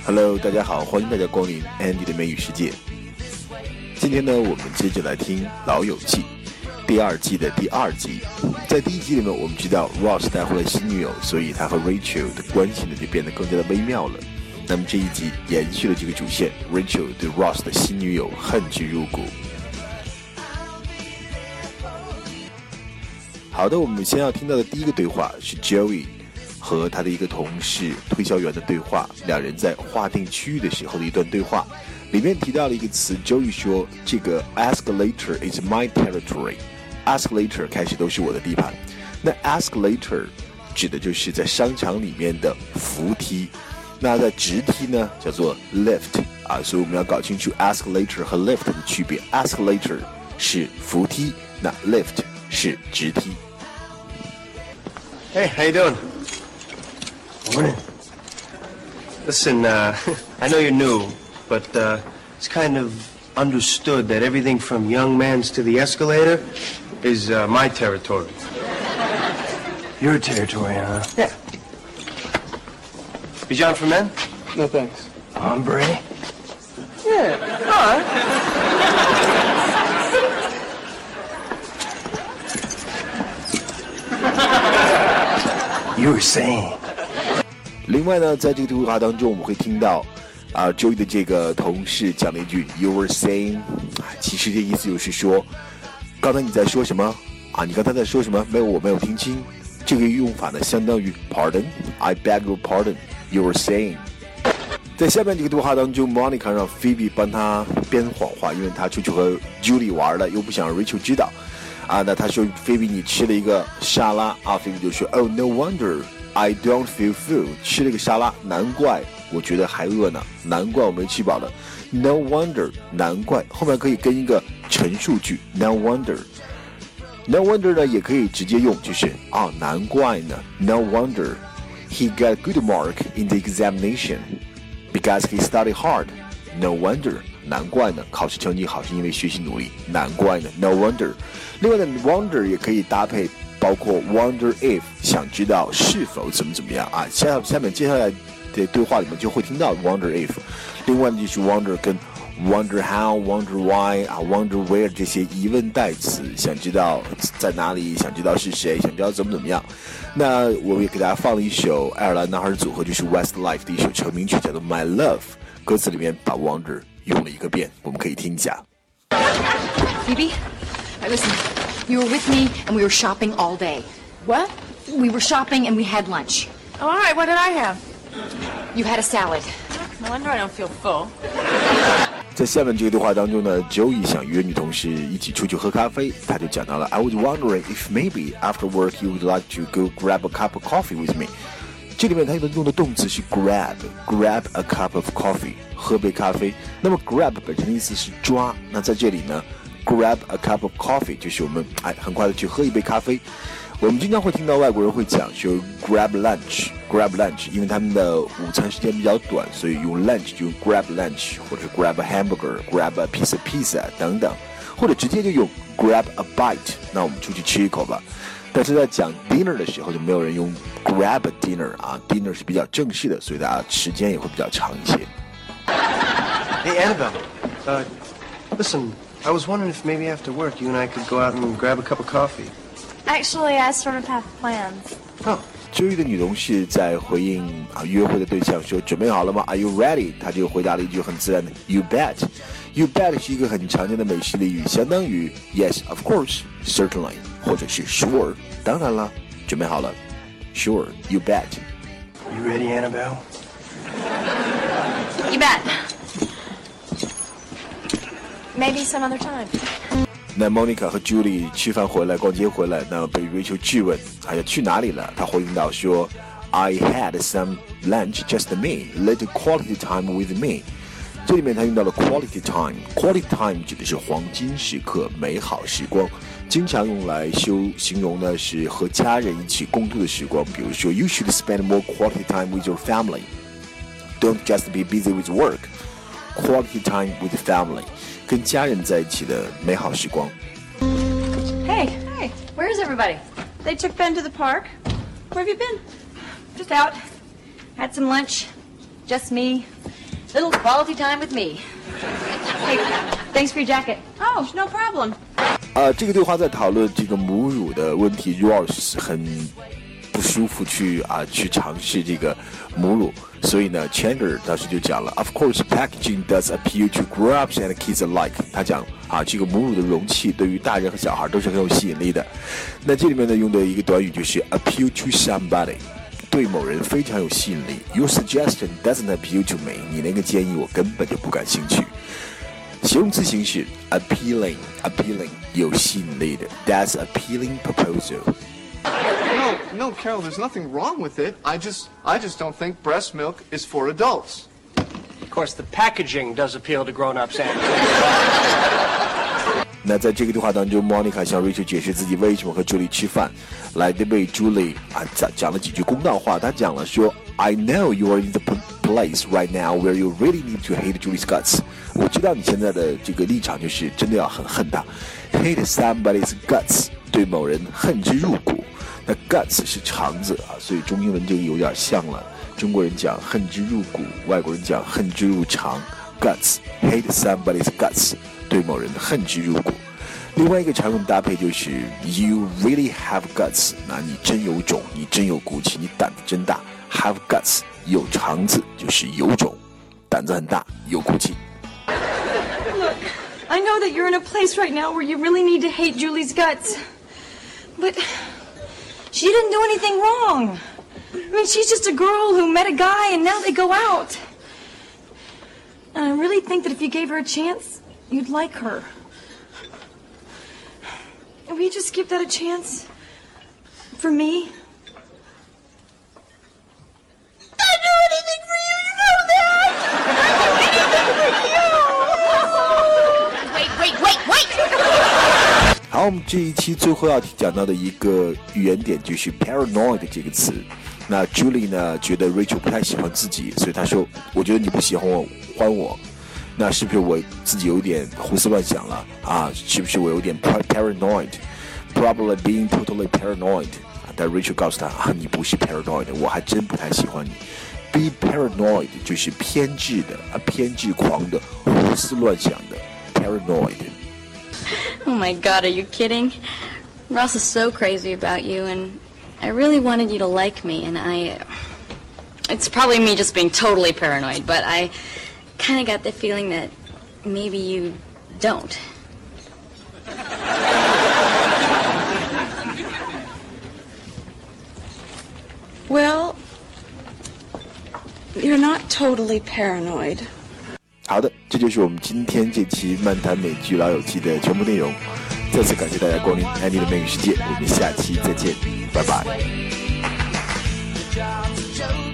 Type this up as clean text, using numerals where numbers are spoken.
Hello， 大家好，欢迎大家光临 Andy 的美语世界。今天呢，我们接着来听《老友记》第二季的第二集。在第一集里面，我们知道 Ross 带回了新女友，所以他和 Rachel 的关系呢就变得更加的微妙了。那么这一集延续了这个主线 ，Rachel 对 Ross 的新女友恨之入骨。好的，我们先要听到的第一个对话是 Joey 和他的一个同事推销员的对话，两人在划定区域的时候的一段对话，里面提到了一个词 ，Joey 说这个 escalator is my territory。escalator 开始都是我的地盘，那 escalator 指的就是在商场里面的扶梯，那在直梯呢叫做 lift 啊，所以我们要搞清楚 escalator 和 lift 的区别。escalator 是扶梯，那 lift 是直梯。 Hey, how you doing? Morning. Listen, I know you're new, but it's kind of understood that everything from young men's to the escalator is my territory. Your territory, huh? Yeah. Is John for men? No thanks. Hombre? Yeah. All right. You were saying. 另外呢，在这个对话当中，我们会听到Joey 的这个同事讲了一句 "You were saying"， 其实这意思就是说，刚才你在说什么啊？你刚才在说什么？我没有听清。这个用法呢，相当于 Pardon, I beg your pardon. You were saying。在下面这个对话当中 ，Monica 让 Phoebe 帮他编谎话，因为他出去和 Julie 玩了，又不想让 Rachel 知道。那他说 Phoebe 你吃了一个沙拉啊 ，Phoebe 就说 Oh no wonder I don't feel full， 吃了个沙拉，难怪我觉得还饿呢，难怪我没吃饱了。No wonder 难怪后面可以跟一个陈述句 No wonder。No wonder 呢也可以直接用，就是难怪呢 No wonder he got a good mark in the examination because he studied hard. No wonder 难怪呢考试成绩好是因为学习努力，难怪呢 No wonder。另外呢 wonder 也可以搭配包括 wonder if 想知道是否怎么样啊，下面接下来的对话里面就会听到 wonder if。另外呢就是 wonder 跟 wonder how wonder why wonder where 这些疑问代词，想知道在哪里，想知道是谁，想知道怎么样。那我也给大家放了一首爱尔兰男孩组合就是 Westlife 的一首成名曲叫做 My Love， 歌词里面把 wonder 用了一个遍，我们可以听一下。 Phoebe, listen, you were with me and we were shopping all day. What? We were shopping and we had lunch. Oh, all right, what did I have? You had a salad. No wonder I don't feel full. 在下面这个对话当中呢 Joey 想约女同事一起出去喝咖啡，他就讲到了 I was wondering if maybe after work you would like to go grab a cup of coffee with me。 这里面他用的动词是 grab a cup of coffee， 喝杯咖啡。那么 grab 本身的意思是抓，那在这里呢 grab a cup of coffee 就是我们很快的去喝一杯咖啡。我们经常会听到外国人会讲说 grab lunch， 因为他们的午餐时间比较短，所以用 lunch 就用 grab lunch， 或者 grab a hamburger，grab a piece of pizza 等等，或者直接就用 grab a bite， 那我们出去吃一口吧。但是在讲 dinner 的时候就没有人用 grab a dinner dinner 是比较正式的，所以大家时间也会比较长一些。 Hey, Annabelle. Listen, I was wondering if maybe after work you and I could go out and grab a cup of coffee. Actually, I sort of have plans. Oh. Joey 的女同事在回应约会的对象说准备好了吗 Are you ready？ 她就回答了一句很自然的 You bet。You bet 是一个很常见的美式俚语，相当于 Yes, of course, certainly， 或者是 Sure， 当然了，准备好了 Sure, you bet。 You ready, Annabelle? You bet. Maybe some other time. 那 Monica 和 Julie 吃饭回来逛街回来，那被 Rachel 质问要去哪里了，她回应到说 I had some lunch just me, little quality time with me。 这里面她用到了 quality time。 time 指的是黄金时刻，美好时光，经常用来形容呢是和家人一起共度的时光。比如说 You should spend more quality time with your family. Don't just be busy with work. Quality time with family， 跟家人在一起的美好时光。 Hey, where is everybody? They took Ben to the park. Where have you been? Just out. Had some lunch. Just me. Little quality time with me. Hey, thanks for your jacket. Oh, no problem. 这个对话在讨论这个母乳的问题 ，Ross 很不舒服去尝试这个母乳，所以呢 ，Chandler 当时就讲了 ，Of course, packaging does appeal to grown-ups and kids alike。他讲这个母乳的容器对于大人和小孩都是很有吸引力的。那这里面呢用的一个短语就是 appeal to somebody， 对某人非常有吸引力。Your suggestion doesn't appeal to me。你那个建议我根本就不感兴趣。形容词形式 appealing 有吸引力的 That's appealing proposal. No, Carol, there's nothing wrong with it. I just don't think breast milk is for adults. Of course, the packaging does appeal to grown-ups and kids. 那在这个对话当中 Monica 向 Rachel 解释自己为什么和 Julie 吃饭，来为 Julie 讲了几句公道话。他讲了说 I know you are in the place right now where you really need to hate Julie's guts。 我知道你现在的这个立场就是真的要很恨他 Hate somebody's guts， 对某人恨之入骨。那 guts 是肠子所以中英文这个有点像了。中国人讲恨之入骨，外国人讲恨之入肠。Guts hate somebody's guts， 对某人恨之入骨。另外一个常用搭配就是 You really have guts， 那你真有种，你真有骨气，你胆子真大。Have guts 有肠子就是有种，胆子很大，有骨气。 Look, I know that you're in a place right now where you really need to hate Julie's guts. But she didn't do anything wrong. I mean, she's just a girl who met a guy and now they go out. And I really think that if you gave her a chance, you'd like her. Will you just give that a chance? For me? I'd do anything for you, you know that! I'd do anything for you! Wait. 好，我们这一期最后要讲到的一个语言点就是 paranoid 这个词。那 Julie 呢觉得 Rachel 不太喜欢自己，所以她说我觉得你不喜欢我，那是不是我自己有点胡思乱想了是不是我有点 paranoid Probably being totally paranoid 但 Rachel 告诉他你不是 paranoid， 我还真不太喜欢你。Be paranoid 就是偏执的偏执狂的，胡思乱想的 paranoid。 Oh my God, are you kidding? Ross is so crazy about you, and I really wanted you to like me, and it's probably me just being totally paranoid, but I kind of got the feeling that maybe you don't. Well, you're not totally paranoid. 好的，这就是我们今天这期漫谈美剧老友记的全部内容。再次感谢大家光临安妮的美语世界，我们下期再见，拜拜。